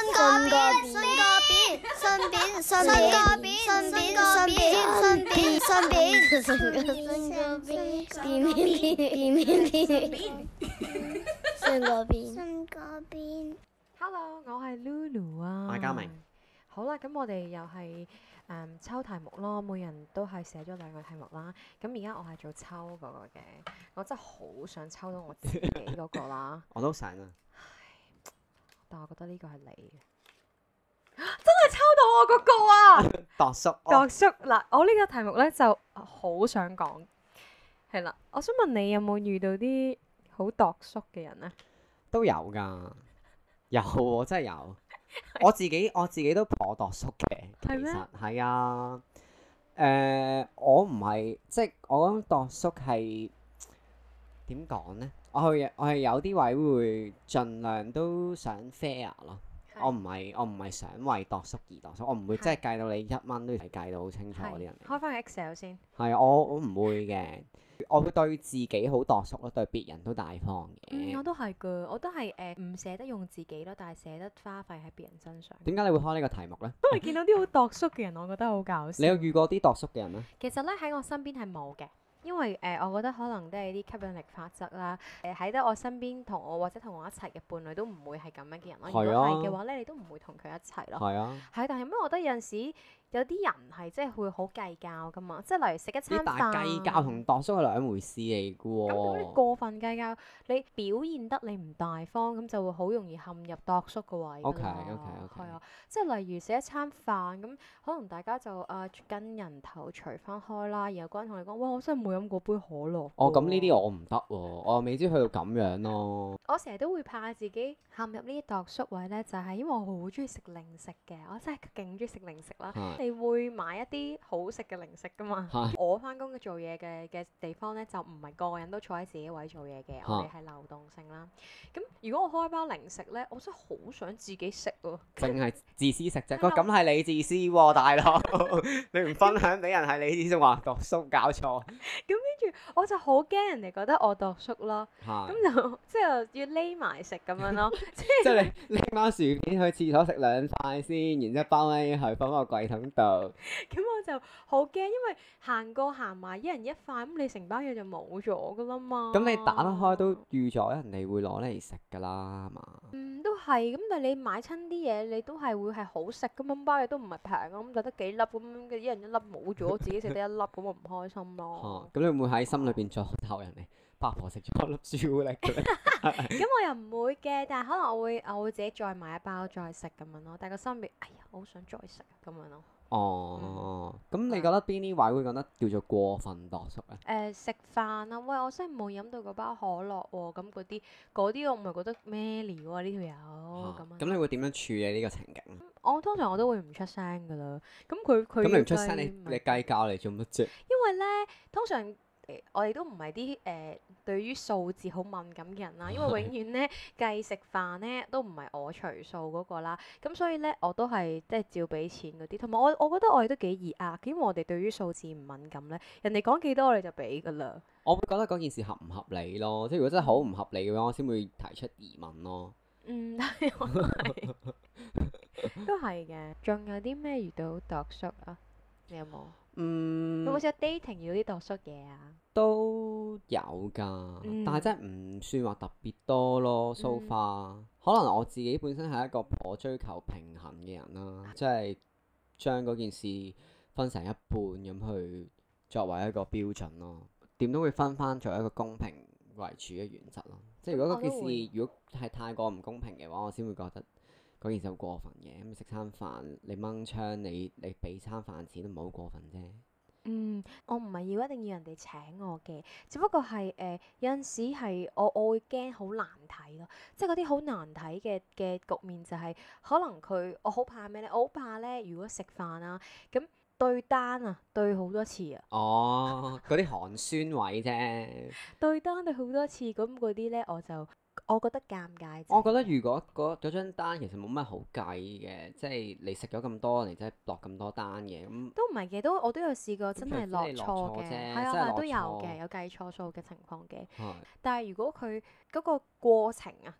Hello，我係 Lulu 啊。 我係嘉明。 好啦，咁我哋又係抽題目咯，每人都係寫咗2個題目啦。咁而家我係做抽嗰個嘅，我真係好想抽到我自己嗰個啦。 我都想啊， 但我覺得呢個係你嘅，真係抽到我嗰個啊！ 度叔， 度叔嗱，我呢個題目咧就好想講，係啦，我想問你有冇遇到啲好度叔嘅人咧？ 都有㗎，有喎，真係有。我自己都頗度叔嘅，其係咩？ 實係啊。我唔係，即係我諗度叔係點講呢？我係有啲位會盡量都想 fair 咯。我唔係想為度叔而度叔，我唔會即係計到你1蚊都要計到好清楚嗰啲人嚟。 開翻個 Excel 先。 係啊，我唔會嘅，我會對自己好度叔咯，對別人都大方嘅。 我都係㗎，我都係唔捨得用自己咯，但係捨得花費喺別人身上。 點解你會開呢個題目呢？ 因為見到啲好度叔嘅人，我覺得好搞笑。 你有遇過啲度叔嘅人咩？ 其實咧喺我身邊係冇嘅。因為我覺得可能都係啲吸引力法則啦。喺得我身邊同我或者同我一齊嘅伴侶都唔會係咁樣嘅人咯。如果係嘅話咧，你都唔會同佢一齊咯。 係啊。 係，但係咩？我覺得有陣時有啲人係即係會好計較噶嘛。即係例如食一餐飯， 但係計較同度叔係兩回事嚟嘅喎。 咁你過分計較，你表現得你唔大方，咁就會好容易陷入度叔個位㗎啦。 OK。 係啊，即係例如食一餐飯咁，可能大家就跟人頭除翻開啦，然後嗰人同你講：哇，我真係冇飲過杯可樂。 哦，咁呢啲我唔得喎，我未知去到咁樣咯。 我成日都會怕自己陷入呢啲度叔位咧，就係因為我好中意食零食嘅，我真係勁中意食零食啦。你會買一啲好食嘅零食噶嘛？我翻工嘅做嘢嘅地方咧，就唔係個個人都坐喺自己位做嘢嘅，我哋係流動性啦。咁如果我開包零食咧，我真係好想自己食喎。 淨係自私食啫，咁係你自私喎，大佬。你唔分享俾人係你自私，話度叔搞錯。 咁跟住我就好驚人哋覺得我度叔咯，咁就即係要匿埋食咁樣咯。 即係你拎翻薯片去廁所食2塊先，然之後包翻去放個櫃桶度。 咁我就好驚，因為行過行埋一人一塊，咁你成包嘢就冇咗噶啦嘛。 咁你打得開都預咗人哋會攞嚟食噶啦，係嘛？ 都係。咁但係你買親啲嘢，你都係會係好食咁樣，包嘢都唔係平啊，咁就得幾粒咁嘅，一人一粒冇咗，自己食得一粒，咁我唔開心咯。 咁你會唔會喺心裏邊再鬧人哋？八婆食咗粒朱古力嘅咧？ 咁我又唔會嘅，但係可能我會自己再買一包再食咁樣咯。但係個心入邊，哎呀，我好想再食咁樣咯。 哦，咁你覺得邊啲位會覺得叫做過分度叔咧？ 食飯啊，喂，我真係冇飲到嗰包可樂喎，咁嗰啲我唔係覺得咩料啊，呢條友咁樣。 咁你會點樣處理呢個情景？ 我通常我都會唔出聲噶啦。咁你唔出聲，你計較嚟做乜啫？ 因為咧，通常我哋都唔係啲對於數字好敏感嘅人啦，因為永遠咧計食飯咧都唔係我除數嗰個啦，咁所以咧我都係即係照俾錢嗰啲，同埋我覺得我哋都幾易呃，因為我哋對於數字唔敏感咧，人哋講幾多我哋就俾噶啦。 我會覺得嗰件事合唔合理咯，即係如果真係好唔合理嘅話，我先會提出疑問咯。 但係我都係嘅。仲有啲咩遇到度叔啊？你有冇？有冇試過 dating 遇到啲度叔嘢啊？ 都有㗎，但係真係唔算話特別多咯。So far，可能我自己本身係一個頗追求平衡嘅人啦，即係將嗰件事分成一半咁去作為一個標準咯。點都會分翻作為一個公平為主嘅原則咯。即係如果嗰件事如果係太過唔公平嘅話，我先會覺得嗰件事好過分嘅。咁食餐飯你掹槍，你俾餐飯錢都唔好過分啫。 我唔係要一定要人哋請我嘅，只不過係有陣時係我會驚好難睇咯，即係嗰啲好難睇嘅局面就係可能我好怕咩咧？我好怕咧，如果食飯啊咁對單啊對好多次啊。 哦，嗰啲寒酸位啫。 對單對好多次，咁嗰啲咧我覺得尷尬。 我覺得如果嗰張單其實冇乜好計嘅，即係你食咗咁多，你真係落咁多單嘅，咁都唔係嘅，我都有試過真係落錯嘅，係啊，都有嘅，有計錯數嘅情況嘅。但係如果佢嗰個過程啊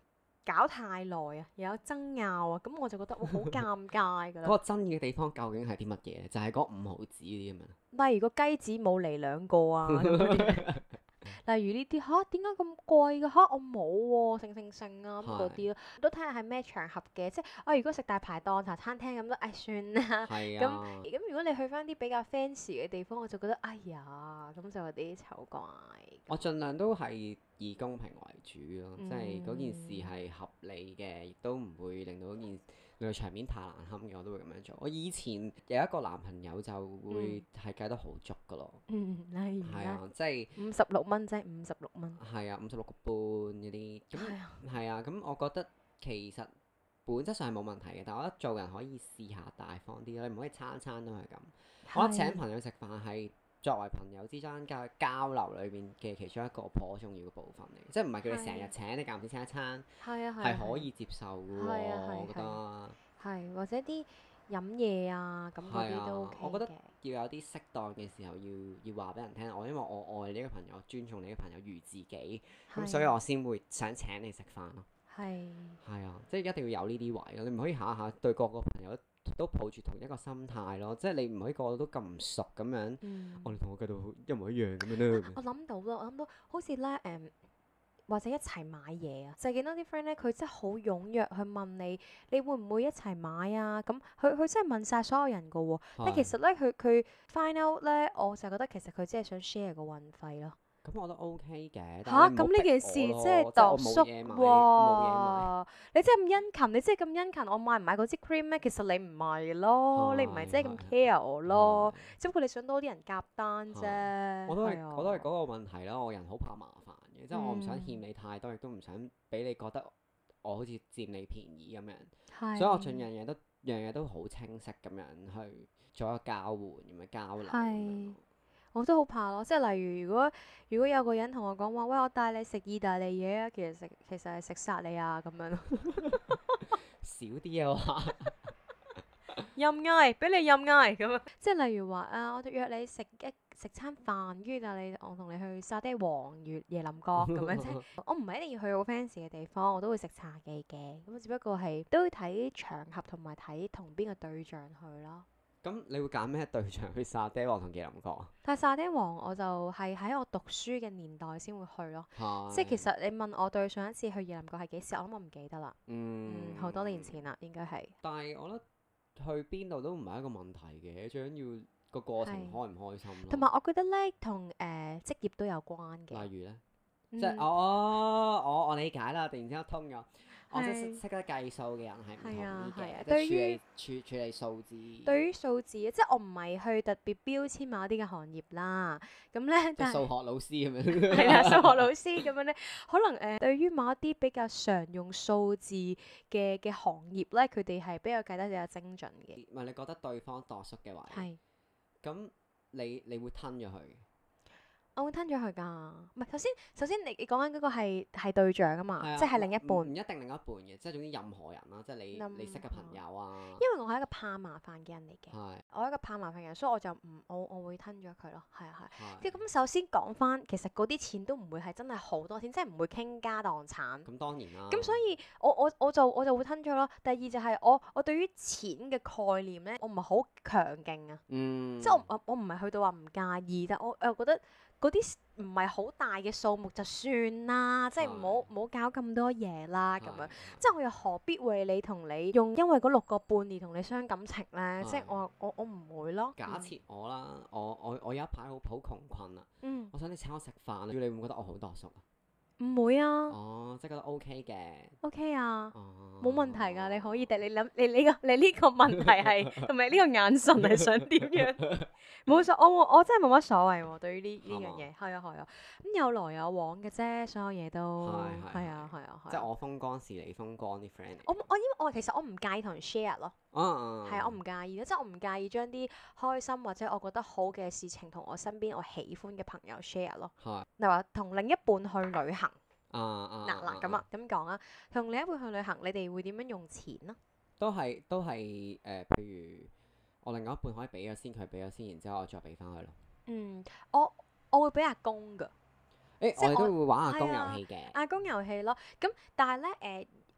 搞太耐啊，又有爭拗啊，咁我就覺得哇好尷尬㗎啦。 嗰個爭議嘅地方究竟係啲乜嘢咧？就係嗰5毫子嗰啲咁樣。 例如個雞子冇嚟2個啊咁嗰啲。例如呢啲嚇點解咁貴嘅嚇我冇喎，成啊咁嗰啲咯，都睇下係咩場合嘅，即係我如果食大排檔茶餐廳咁都算啦。咁如果你去翻啲比較 fancy 嘅地方，我就覺得哎呀咁就有啲醜怪。 我盡量都係以公平為主咯，即係嗰件事係合理嘅，亦都唔會令到令到場面太難堪嘅，我都會咁樣做。我以前有一個男朋友就會係計得好足噶咯。 例如係啊，即係 56蚊啫，56蚊。 係啊，56個半嗰啲。咁係啊，咁我覺得其實本質上係冇問題嘅，但係我覺得做人可以試下大方啲咯，你唔可以餐餐都係咁。我覺得請朋友食飯係作為朋友之間嘅交流裏邊嘅其中一個頗重要嘅部分嚟，即係唔係叫你成日請，你間唔時請一餐，係可以接受嘅喎，我覺得。 係或者啲飲嘢啊，咁嗰啲都 OK 嘅。 我覺得要有啲適當嘅時候要話俾人聽，因為我愛你呢個朋友，尊重你呢個朋友如自己，咁所以我先會想請你食飯咯。係啊，即係一定要有呢啲位咯，你唔可以下下對個朋友都抱住同一個心態咯，即係你唔可以個個都咁唔熟咁樣，我哋同我計到一模一樣咁樣咧。 我諗到好似咧或者一齊買嘢啊，就係見到啲 friend 咧，佢真係好踴躍去問你會唔會一齊買啊？咁佢真係問晒所有人噶喎，但其實咧佢 find out 咧，我就覺得其實佢只係想 share 個運費咯。 咁我覺得 OK 嘅。 嚇！咁呢件事即係度縮喎！你真係咁殷勤，你真係咁殷勤，我買唔買嗰支 cream 咩？其實你唔係咯，你唔係真係咁 care 我咯，只不過你想多啲人夾單啫。 我都係嗰個問題啦，我人好怕麻煩嘅，即係我唔想欠你太多，亦都唔想俾你覺得我好似佔你便宜咁樣，所以我盡樣嘢都好清晰咁樣去做一個交換咁樣交流。 我都好怕咯，即係例如如果有個人同我講話，喂，我帶你食意大利嘢啊，其實係食薩莉亞咁樣咯。 少啲啊話， 任嗌，俾你任嗌咁樣。即係例如話我約你食餐飯，跟住我同你去沙爹王椰林角咁樣啫。我唔係一定要去好 fancy 嘅地方，我都會食茶記嘅。咁只不過係都要睇場合同埋睇同邊個對象去咯。 咁你會揀咩對象去沙爹王同椰林角啊？ 但係沙爹王我就係喺我讀書嘅年代先會去咯，即係其實你問我對上一次去椰林角係幾時，我諗我唔記得啦。好多年前啦，應該係。但係我覺得去邊度都唔係一個問題嘅，最緊要個過程開唔開心咯。 同埋我覺得咧，同職業都有關嘅。 例如咧，即係我理解啦，突然之間通咗。我識得計數嘅人係唔同啲嘅，即係處理數字。 對於數字，即係我唔係去特別標籤某一啲嘅行業啦。咁咧， 即係數學老師咁樣。 係啦，數學老師咁樣咧，可能對於某一啲比較常用數字嘅行業咧，佢哋係比較計得比較精準嘅。 唔係你覺得對方度縮嘅話，咁你會吞咗佢？ 我會吞咗佢㗎，唔係首先你講緊嗰個係對象啊嘛，即係另一半。唔一定另一半嘅，即係總之任何人啦，即係你識嘅朋友啊。 因為我係一個怕麻煩嘅人嚟嘅，我係一個怕麻煩嘅人，所以我就我會吞咗佢咯，係。咁首先講翻，其實嗰啲錢都唔會係真係好多錢，即係唔會傾家蕩產。 咁當然啦。 咁所以我就會吞咗咯。第二就係我對於錢嘅概念咧，我唔係好強勁啊。即係我唔係去到話唔介意，但我又覺得。嗰啲唔係好大嘅數目就算啦，即係唔好搞咁多嘢啦咁樣。即係我又何必為你同你用因為嗰6個半而同你傷感情咧？即係我唔會咯。 假設我啦，我有一排好窮困啊，我想你請我食飯，你會唔會覺得我好度縮啊？ 唔會啊。 即係覺得 OK 嘅。 OK 啊。冇問題㗎，你可以你諗你呢個問題係同埋呢個眼神係想點樣？冇所我真係冇乜所謂喎，對於呢樣嘢係啊，咁有來有往嘅啫，所有嘢都係啊。 即係我風光是你風光啲 friend。 因為其實我唔介意同人 share 咯。係啊，我唔介意，即係我唔介意將啲開心或者我覺得好嘅事情同我身邊我喜歡嘅朋友 share 咯。例如話同另一半去旅行。咁講啊，同另一半去旅行，你哋會點樣用錢呢？ 都係譬如我另外一半可以俾咗先，佢俾咗先，然之後我再俾翻佢咯。 我會俾阿公㗎。 我哋都會玩阿公遊戲嘅。 阿公遊戲咯，咁但係咧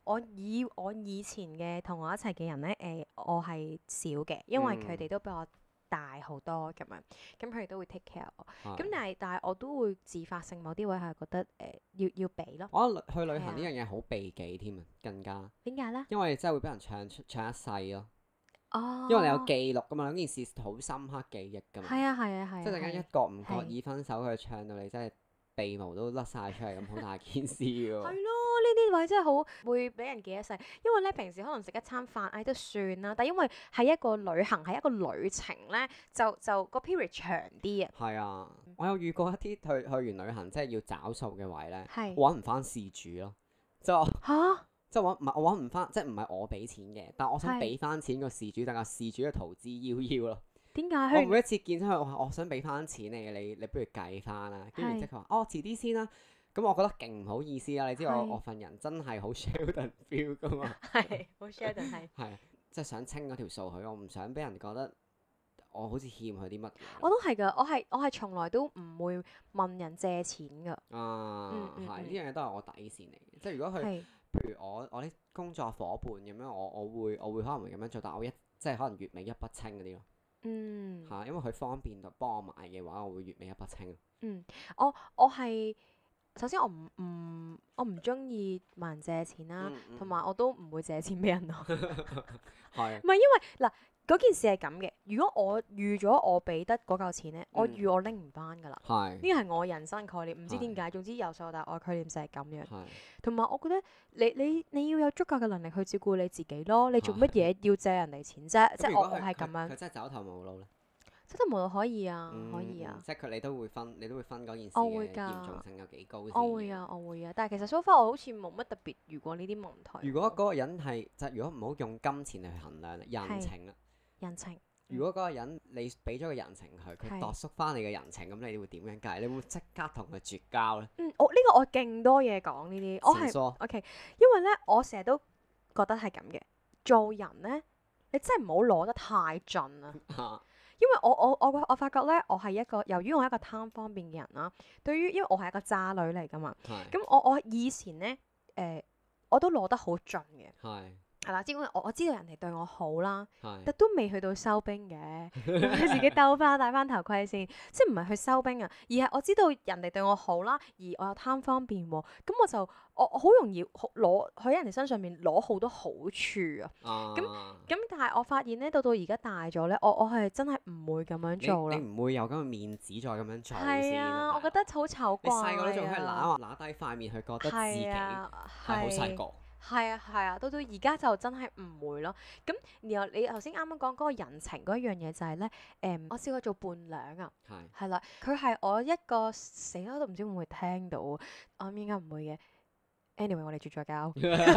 我以前嘅同我一齊嘅人咧，我係少嘅，因為佢哋都比我大好多咁樣，咁佢哋都會 take care 我。咁但係我都會自發性某啲位係覺得要俾咯。 我覺得去旅行呢樣嘢好避忌添啊，更加。 點解咧？ 因為真係會俾人唱一世咯。 哦。 因為你有記錄噶嘛，嗰件事好深刻記憶噶嘛。 係啊係啊係啊。 即係突然間一覺唔覺意分手，佢唱到你真係鼻毛都甩晒出嚟咁，好大件事喎。 係咯，呢啲位真係好會俾人記一世。因為咧平時可能食一餐飯，都算啦。但因為係一個旅行，係一個旅程咧，就個 period 長啲啊。 係啊，我有遇過一啲去完旅行，即係要找數嘅位咧， 係我揾唔翻事主咯，即係嚇。 即係我揾唔翻，即係唔係我俾錢嘅，但我想俾翻錢個事主，但係事主嘅逃之夭夭咯。 點解？ 我每一次見到佢，我話我想俾翻錢你不如計翻啦。跟住即係佢話哦，遲啲先啦。咁我覺得勁唔好意思啦。你知我份人真係好 Sheldon feel 噶嘛。 係好 Sheldon 係。 係即係想清嗰條數佢，我唔想俾人覺得我好似欠佢啲乜嘢。 我都係㗎，我係從來都唔會問人借錢㗎。 係呢樣嘢都係我底線嚟嘅。即係如果佢譬如我啲工作伙伴咁樣，我會可能會咁樣做，但我即係可能月尾一筆清嗰啲咯。因為佢方便到幫我買嘅話，我會月尾一筆清。 我係首先我唔中意問人借錢啦，同埋我都唔會借錢俾人咯。 係。 唔係因為嗱嗰件事係咁嘅，如果我預咗我俾得嗰嚿錢咧，我預我拎唔翻㗎啦。呢個係我人生概念，唔知點解。總之由細到大我概念就係咁樣。同埋我覺得你要有足夠嘅能力去照顧你自己咯。你做乜嘢要借人哋錢啫？即係我係咁樣。 佢真係走投無路咧。 走投無路可以啊，可以啊。 即係你都會分嗰件事嘅嚴重性有幾高先。 我會啊，但係其實 so far 我好似冇乜特別遇過呢啲問題。 如果嗰個人係如果唔好用金錢嚟衡量人情啦。 人情。 如果嗰個人你俾咗個人情佢度縮翻你嘅人情，咁你會點樣計？你會即刻同佢絕交咧？ 呢個我勁多嘢講呢啲，我係 OK，因為咧我成日都覺得係咁嘅。做人咧，你真係唔好攞得太盡啊！因為我發覺咧，我係一個由於我係一個貪方便嘅人啦。因為我係一個渣女嚟噶嘛，咁我以前咧我都攞得好盡嘅。係啦，因為我知道人哋對我好啦，但都未去到收兵嘅，自己戴翻頭盔先，即係唔係去收兵啊，而係我知道人哋對我好啦，而我又貪方便喎，咁我好容易攞喺人哋身上面攞好多好處啊，咁但係我發現咧，到而家大咗咧，我係真係唔會咁樣做啦。 你唔會有咁嘅面子再咁樣做先。 係啊，我覺得好醜怪啊。 你細個都仲係揦低塊面去覺得自己係好細個。 係啊，到而家就真係唔會咯。咁然後你頭先啱啱講嗰個人情嗰一樣嘢就係咧，我試過做伴娘啊，係啦，佢係我一個死啦都唔知會唔會聽到，我諗應該唔會嘅。Anyway， 我哋絕咗交。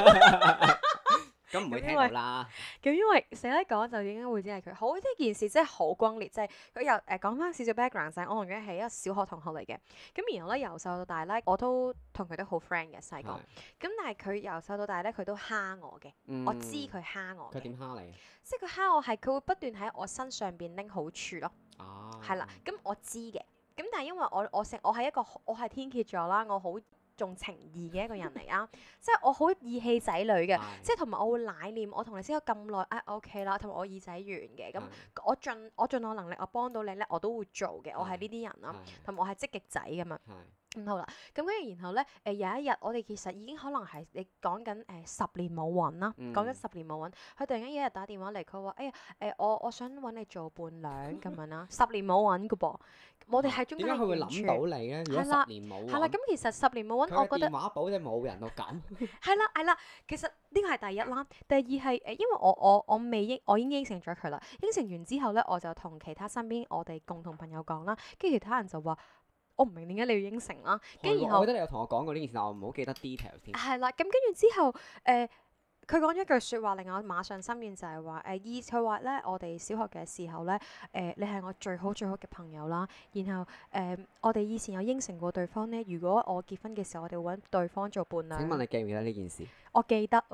咁唔會聽到啦。 咁因為死咧講就應該會知係佢。好，呢件事真係好轟烈，即係佢又講翻少少 background 就係我同佢係一個小學同學嚟嘅。咁然後咧由細到大咧，我都同佢都好 friend 嘅細個。咁但係佢由細到大咧，佢都蝦我嘅。我知佢蝦我。 佢點蝦你？ 即係佢蝦我係佢會不斷喺我身上邊拎好處咯。係啦，咁我知嘅。咁但係因為我係天蠍座啦，我好重情義嘅一個人嚟啊，即係我好義氣仔女嘅，即係同埋我會奶念我同你識咗咁耐，OK 啦，同埋我耳仔圓嘅，咁我盡我能力，我幫到你咧，我都會做嘅，我係呢啲人啦，同埋我係積極仔㗎嘛。咁好啦，咁跟住然後咧，有一日我哋其實已經可能係你講緊10年冇揾啦，講緊10年冇揾，佢突然間有一日打電話嚟，佢話：哎呀，我想揾你做伴娘咁樣啦，10年冇揾㗎噃，我哋係中間點解佢會諗到你咧？如果10年冇揾， 係啦，咁其實10年冇揾，我覺得電話簿真係冇人到咁。 係啦，其實呢個係第一啦，第二係因為我已經應承咗佢啦，應承完之後咧，我就同其他身邊我哋共同朋友講啦，跟住其他人就話。我唔明點解你要應承啦，跟住然後我覺得你有同我講過呢件事，但我唔好記得 detail 先。 係啦，咁跟住之後，佢講咗一句説話，令我馬上心軟，就係話佢話咧，我哋小學嘅時候咧，你係我最好嘅朋友啦。然後我哋以前有應承過對方咧，如果我結婚嘅時候，我哋會揾對方做伴娘。 請問你記唔記得呢件事？ 我記得啊。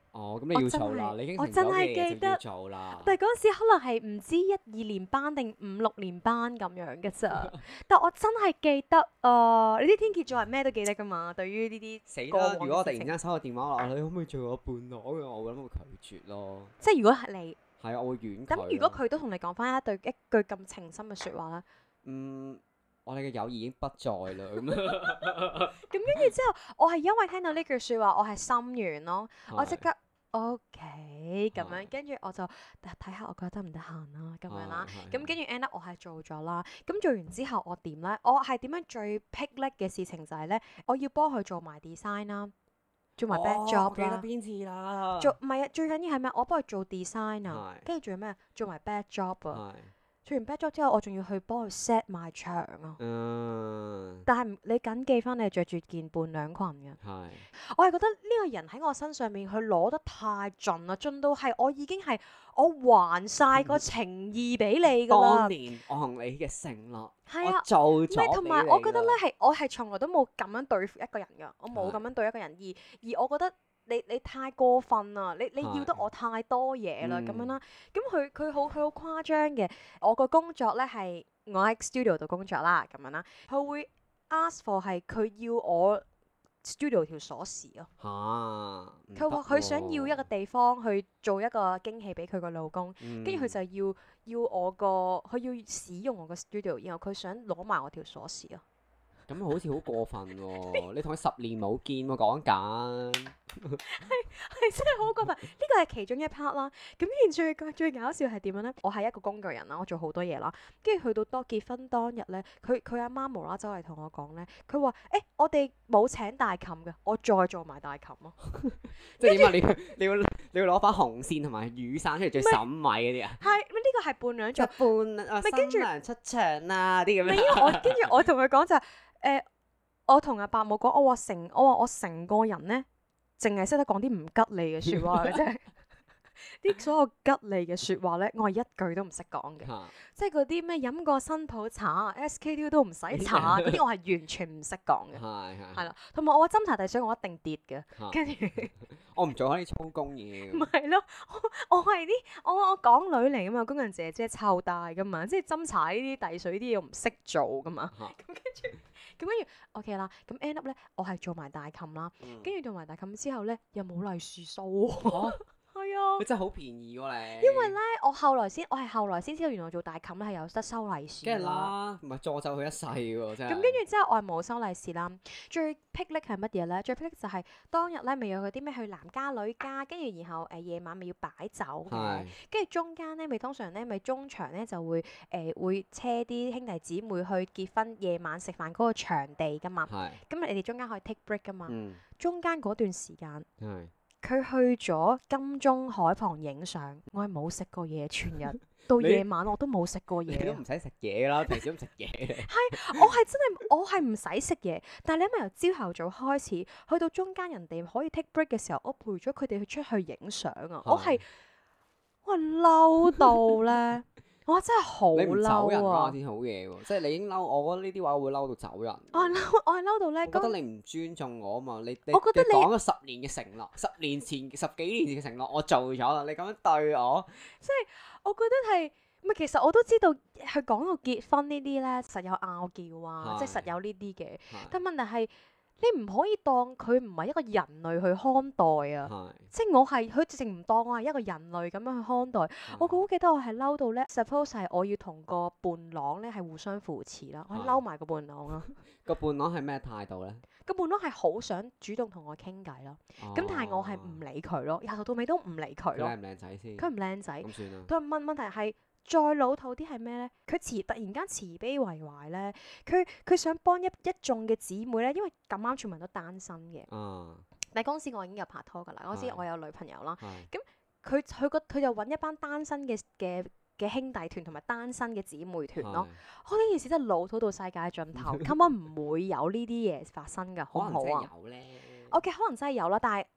哦，咁你要做啦，你已經我真成咗嘅係記得嘢就要做啦。 但係嗰陣時可能係唔知1、2年班定5、6年班咁樣嘅咋，但我真係記得你啲天蠍座係咩都記得噶嘛？對於呢啲死啦！ 過往嘅如果我突然事情間收個電話話你可唔可以做我伴郎嘅，我諗會拒絕咯。 即係如果係你， 係啊，我會婉拒。 咁如果佢都同你講翻一句咁情深嘅説話咧， 我哋嘅友誼已經不在啦。咁咁跟住之後，我係因為聽到呢句説話，我係心軟咯，我即刻 OK 咁樣，跟住我就睇下我覺得得唔得閒啦，咁樣啦，咁跟住 end up 我係做咗啦，咁做完之後我點咧？我係點樣最霹靂嘅事情就係咧，我要幫佢做埋 design 啦，做埋 back job 我記得啦， 邊次啦。 唔係啊，最緊要係咩？我幫佢做 design 啊，跟住仲有咩？做埋 back job 啊。做完 back job 之後，我仲要去幫佢 set 埋場啊！但係你緊記翻，你係着住件伴娘裙嘅。我係覺得呢個人喺我身上面，佢攞得太盡啦，盡到係我已經係我還晒個情意俾你㗎啦。 當年我同你嘅承諾， 係啊， 我做咗俾你。 同埋我覺得咧我係從來都冇咁樣對付一個人㗎，我冇咁樣對一個人，而我覺得。你太過分啦！你要得我太多嘢啦，咁樣啦。咁佢好誇張嘅。我個工作咧係我喺 studio 度工作啦，咁樣啦。佢會 ask for 係佢要我 studio 條鎖匙咯。佢話佢想要一個地方去做一個驚喜俾佢個老公，跟住佢就要佢要使用我個 studio，然後佢想攞埋我條鎖匙咯。 咁好似好過分喎！你同佢10年冇見喎，講緊係真係好過分。呢個係其中一 part 啦。咁最搞笑係點樣咧？我係一個工具人啦，我做好多嘢啦。跟住去到結婚當日咧，佢阿媽無啦啦走嚟同我講咧，佢話：我哋冇請大琴嘅，我再做埋大琴咯。 即係點啊？你要攞翻紅線同埋雨傘出嚟最審米嗰啲啊？ 係呢個係伴娘做新娘出場啦啲咁樣。 因為跟住我同佢講就係。我同阿伯母講，我話我成個人咧，淨係識得講啲唔吉利嘅説話嘅啫。啲所有吉利嘅説話咧，我係一句都唔識講嘅。即係嗰啲咩飲過新抱茶 SK2 都唔使搽嗰啲，我係完全唔識講嘅。係啦，同埋我話斟茶遞水，我一定跌嘅。跟住我唔做開啲粗工嘢。 唔係咯，我係我港女嚟噶嘛，工人姐姐湊大噶嘛，即係斟茶呢啲遞水呢啲嘢我唔識做噶嘛。咁跟住 OK 啦，咁 end up 咧，我係做埋大琴啦，跟住做埋大琴之後咧，又冇利是收喎。係啊， 你真係好便宜喎你。 因為咧，我係後來先知道原來做大琴咧係有得收利是。 梗係啦，唔係助咒佢一世喎，真係。咁跟住之後，我係冇收利是啦。最霹靂係乜嘢咧？最霹靂就係當日咧，咪有嗰啲咩去男家女家，跟住然後夜晚咪要擺酒嘅，跟住中間咧咪通常咧咪中場咧就會會車啲兄弟姊妹去結婚夜晚食飯嗰個場地噶嘛。咁你哋中間可以 take break 噶嘛。中間嗰段時間。佢去咗金鐘海旁影相，我係冇食過嘢，全日到夜晚我都冇食過嘢。 你都唔使食嘢啦，平時都唔食嘢。 係，我係唔使食嘢，但係你因為由朝頭早開始，去到中間人哋可以 take break 嘅時候，我陪咗佢哋去出去影相啊！我係嬲到咧，我真係好嬲啊！ 先好嘢喎，即係你已經嬲，我覺得呢啲話會嬲到走人。 我係嬲到咧， 覺得你唔尊重我啊嘛！你我覺得你講咗10年嘅承諾，10幾年前嘅承諾，我做咗啦，你咁樣對我， 即係我覺得係，其實我都知道佢講到結婚呢啲咧，實有拗撬啊，即係實有呢啲嘅。但問題係你唔可以當佢唔係一個人類去看待啊！即係佢直情唔當我係一個人類咁樣去看待。我好記得我係嬲到咧 ，suppose 係我要同個伴郎咧係互相扶持啦，我係嬲埋個伴郎啦。 個伴郎係咩態度咧？ 個伴郎係好想主動同我傾偈咯，咁但係我係唔理佢咯，由頭到尾都唔理佢咯。 佢靚唔靚仔先？ 佢唔靚仔。 咁算啦。 但問題係再老土啲係咩咧？佢突然間慈悲為懷咧，佢想幫一眾嘅姊妹咧，因為咁啱全部人都單身嘅。但係嗰陣時我已經有拍拖㗎啦，嗰陣時我有女朋友啦。咁佢就揾一班單身嘅兄弟團同埋單身嘅姊妹團咯。呢件事真係老土到世界盡頭，根本唔會有呢啲嘢發生㗎，好唔好啊？ 可能真係有咧。 OK，可能真係有啦，但係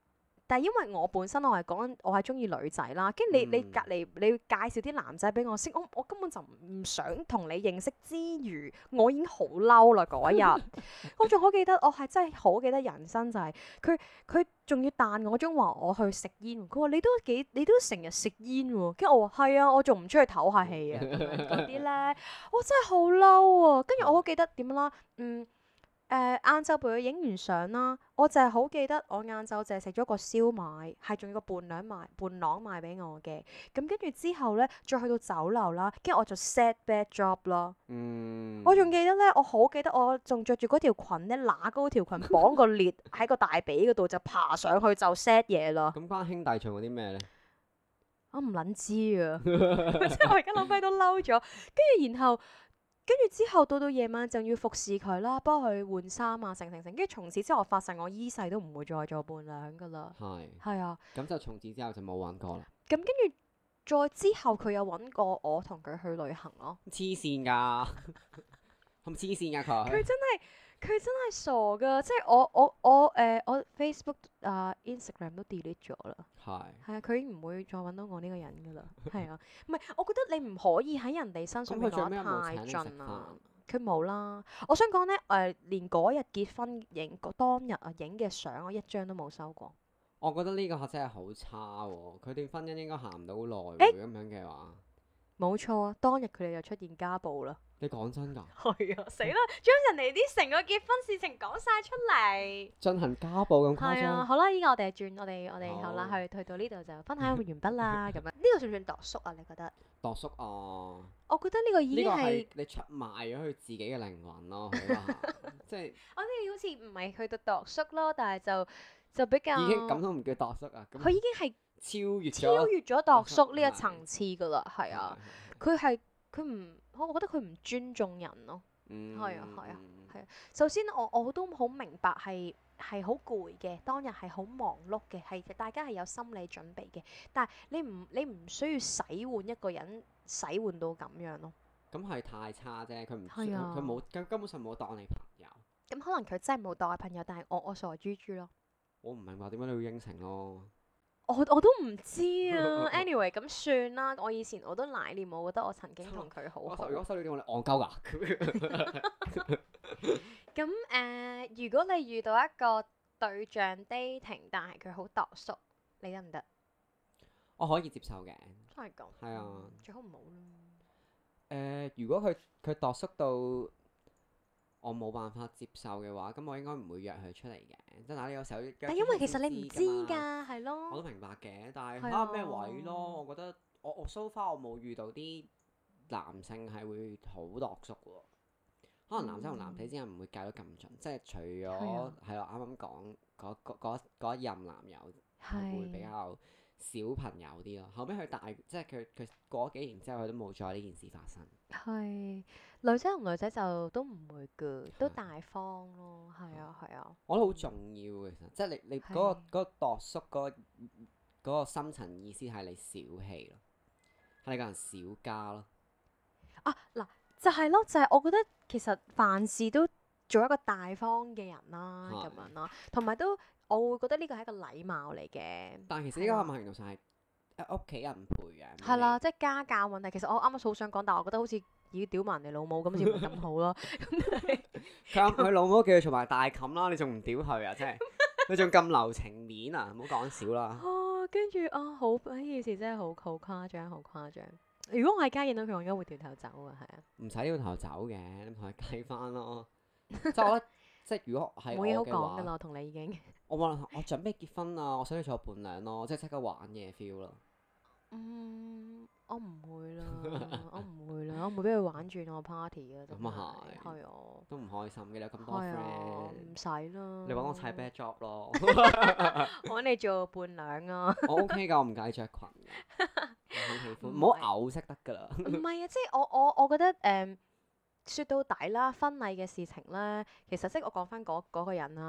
但係因為我本身我係講緊我係中意女仔啦，跟住你隔離你要介紹啲男仔俾我識，我根本就唔想同你認識之餘，我已經好嬲啦嗰日。我仲好記得，我係真係好記得人生就係佢仲要彈我中話我去食煙，佢話你都成日食煙喎，跟住我話係啊，我仲唔出去唞下氣啊嗰啲咧，我真係好嬲啊！跟住我好記得點啦，晏晝陪佢影完相啦，我就係好記得我晏晝就係食咗個燒賣，係仲要個伴郎賣俾我嘅。咁跟住之後咧，再去到酒樓啦，跟住我就 set bad job 啦。我仲記得咧，我好記得我仲着住嗰條裙咧，揦高條裙綁個裂喺個大髀嗰度，就爬上去就 set 嘢啦。 咁關兄弟做過啲咩咧？ 我唔撚知啊，即係我而家諗翻都嬲咗。跟住之後到夜晚就要服侍佢啦，幫佢換衫啊，成。跟住從此之後，我發誓我依世都唔會再做伴娘噶啦。係啊。咁就從此之後就冇揾過啦。 咁跟住再之後，佢有揾過我同佢去旅行咯。 黐線㗎，係咪黐線㗎佢？ 佢真係傻㗎，即係我 Facebook Instagram 都 delete 咗啦。係啊，佢已經唔會再揾到我呢個人㗎啦。係啊，唔係我覺得你唔可以喺人哋身上面講得太盡啊。佢冇啦。我想講咧連嗰日結婚當日影嘅相，我一張都冇收過。 我覺得呢個真係好差喎！佢段婚姻應該行唔到耐喎，咁樣嘅話。 冇錯啊！當日佢哋就出現家暴啦。 你講真㗎？ 係啊，死啦！將人哋啲成個結婚事情講晒出嚟， 進行家暴咁誇張？ 係啊，好啦，依家我哋轉我哋好啦，去到呢度就分享完畢啦。咁樣呢個算唔算度縮啊？你覺得？ 度縮啊！ 我覺得呢個已經係你出賣咗佢自己嘅靈魂咯，即係我哋好似唔係去到度縮咯，但係就比較已經咁都唔叫度縮啊！ 佢已經係超越咗度縮呢一層次㗎啦，係啊，佢唔，我覺得佢唔尊重人咯。係啊。首先我都好明白係好攰嘅，當日係好忙碌嘅，係大家係有心理準備嘅。但係你唔需要洗換一個人，洗換到咁樣咯。 咁係太差啫，佢冇根本上冇當你朋友。 咁可能佢真係冇當我朋友，但係我傻豬豬咯。 我唔明白點解你要應承咯。 我都唔知啊。anyway 咁算啦。我以前我都懷念，我覺得我曾經同佢好好。 如果收你電話，你戇鳩㗎。 咁如果你遇到一個對象 dating，但係佢好度縮，你得唔得？ 我可以接受嘅。 真係咁。係啊。最好唔好啦。 如果佢度縮到我冇辦法接受嘅話，咁我應該唔會約佢出嚟嘅。即係嗱，你有時候但因為其實你唔知㗎，係咯。 我都明白嘅，但係睇下咩位咯。我覺得我 so far 我冇遇到啲男性係會好度縮喎。可能男仔同男仔之間唔會計得咁盡，即係除咗係咯，啱啱講嗰一任男友會比較小朋友啲咯。後尾佢大，即係佢過咗幾年之後，佢都冇再呢件事發生。係女仔同女仔就都唔會㗎，都大方咯。係啊。 我覺得好重要其實，即係你嗰個度縮嗰個深層意思係你小氣咯，係你個人小家咯。 嗱。就係咯，就係我覺得其實凡事都做一個大方嘅人啦，咁樣啦，同埋都我會覺得呢個係一個禮貌嚟嘅。 但係其實呢個某程度上係屋企人陪嘅。 係啦，即係家教問題。其實我啱啱好想講，但係我覺得好似要屌埋人哋老母咁，好似唔係咁好咯。 佢老母叫佢做埋大冚啦，你仲唔屌佢啊？真係你仲咁留情面啊？唔好講少啦。 跟住好呢件事真係好誇張，好誇張。如果我喺街見到佢，我應該會掉頭走啊，係啊。唔使掉頭走嘅，你同佢計翻咯。即係我覺得，即係如果係我嘅話，冇嘢好講㗎啦， 我同你已經。 我準備結婚啊，我想你做我伴娘咯，即刻玩嘢 feel 咯。 我唔會啦，我唔會俾佢玩轉我 party 啊。 咁啊係。係啊。都唔開心嘅，你有咁多 friend。唔使啦。你揾我踩 bad job 咯。 我揾你做伴娘啊。 我 OK 㗎，我唔介意着裙㗎。我好喜歡，唔好嘔識得㗎啦。 唔係啊，即係我覺得説到底啦，婚禮嘅事情咧，其實即係我講翻嗰個人啦。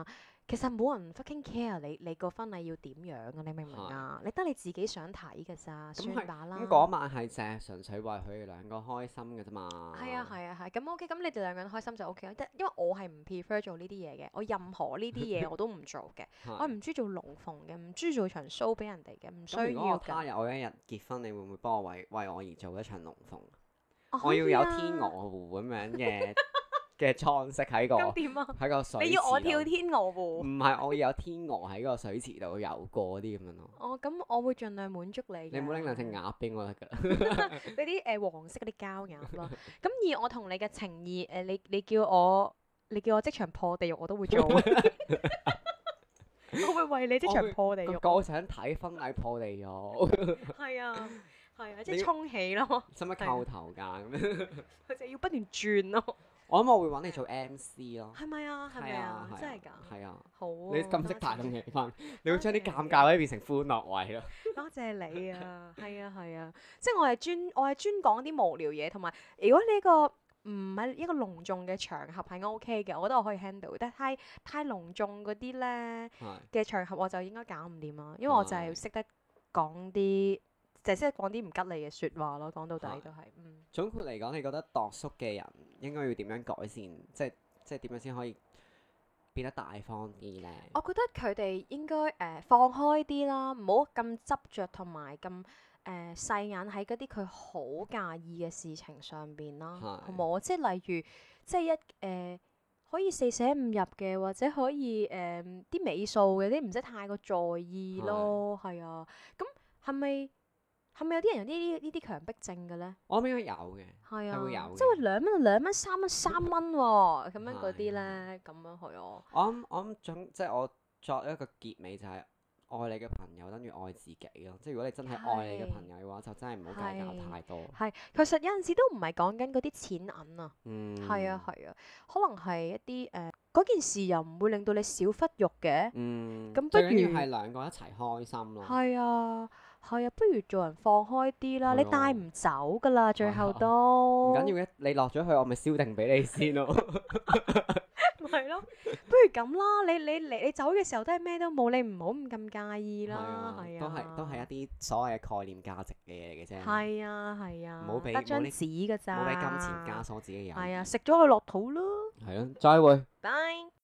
其實冇人 fucking care 你個婚禮要點樣啊？你明唔明啊？你得你自己想睇㗎咋，算吧啦。 咁嗰晚係淨係純粹為佢哋兩個開心嘅啫嘛。 係啊係啊係，咁 OK，咁你哋兩個人開心就 OK 啦。因為我係唔 prefer 做呢啲嘢嘅，我任何呢啲嘢我都唔做嘅。我唔中意做龍鳳嘅，唔中意做場 show 俾人哋嘅，唔需要㗎。 咁如果他日我一日結婚，你會唔會幫我為我而做一場龍鳳？ 我要有天鵝湖咁樣嘅裝飾喺個喺個水池度。 你要我跳天鵝湖？ 唔係，我要有天鵝喺個水池度游過啲咁樣咯。 哦，咁我會盡量滿足你。 你唔好拎兩隻鴨俾我得㗎啦。 嗰啲黃色嗰啲膠鴨咯。咁而我同你嘅情意你叫我即場破地獄我都會做。我會為你即場破地獄。 我想睇婚禮破地獄。 係啊，即係沖起咯。 使唔使扣頭㗎咁樣？ 佢就要不斷轉咯。 我諗我會揾你做 MC 咯。 係咪啊？係咪啊？真係㗎？ 係啊。 好。 你咁識帶動氣氛，你會將啲尷尬位變成歡樂位咯。 多謝你啊！係啊，即係我係專講啲無聊嘢，同埋如果呢個唔係一個隆重嘅場合係 OK 嘅，我覺得我可以 handle。但係太隆重嗰啲咧嘅場合我就應該搞唔掂啦，因為我就係識得講啲。就係識講啲唔吉利嘅説話咯，講到底都係。 總括嚟講，你覺得度叔嘅人應該要點樣改善？即係點樣先可以變得大方啲咧？ 我覺得佢哋應該放開啲啦，唔好咁執着同埋咁細眼喺嗰啲佢好介意嘅事情上邊啦，好冇？即係例如，即係可以四捨五入嘅，或者可以啲尾數嘅啲唔使太過在意咯，係啊。咁係咪有啲人有呢啲強迫症嘅咧？ 我諗應該有嘅， 係啊， 會有嘅。 即係2蚊就2蚊，3蚊3蚊喎，咁樣嗰啲咧，咁樣去我諗即係我作一個結尾就係愛你嘅朋友等於愛自己咯。即係如果你真係愛你嘅朋友嘅話，就真係唔好計較太多。 係，其實有陣時都唔係講緊嗰啲錢銀啊。係啊，可能係一啲嗰件事又唔會令到你少忽肉嘅。咁不如最緊要係兩個一齊開心咯。 係啊，不如做人放開啲啦。你帶唔走㗎啦，最後都唔緊要嘅。你落咗去，我咪燒定俾你先咯。 係咯，不如咁啦。你走嘅時候都係咩都冇，你唔好咁介意啦。係啊， 都係一啲所謂嘅概念價值嘅嘢嚟嘅啫。 係啊， 唔好俾得張紙㗎咋， 唔好俾金錢枷鎖自己有。 係啊，食咗佢落肚咯。 係咯，再會。 Bye。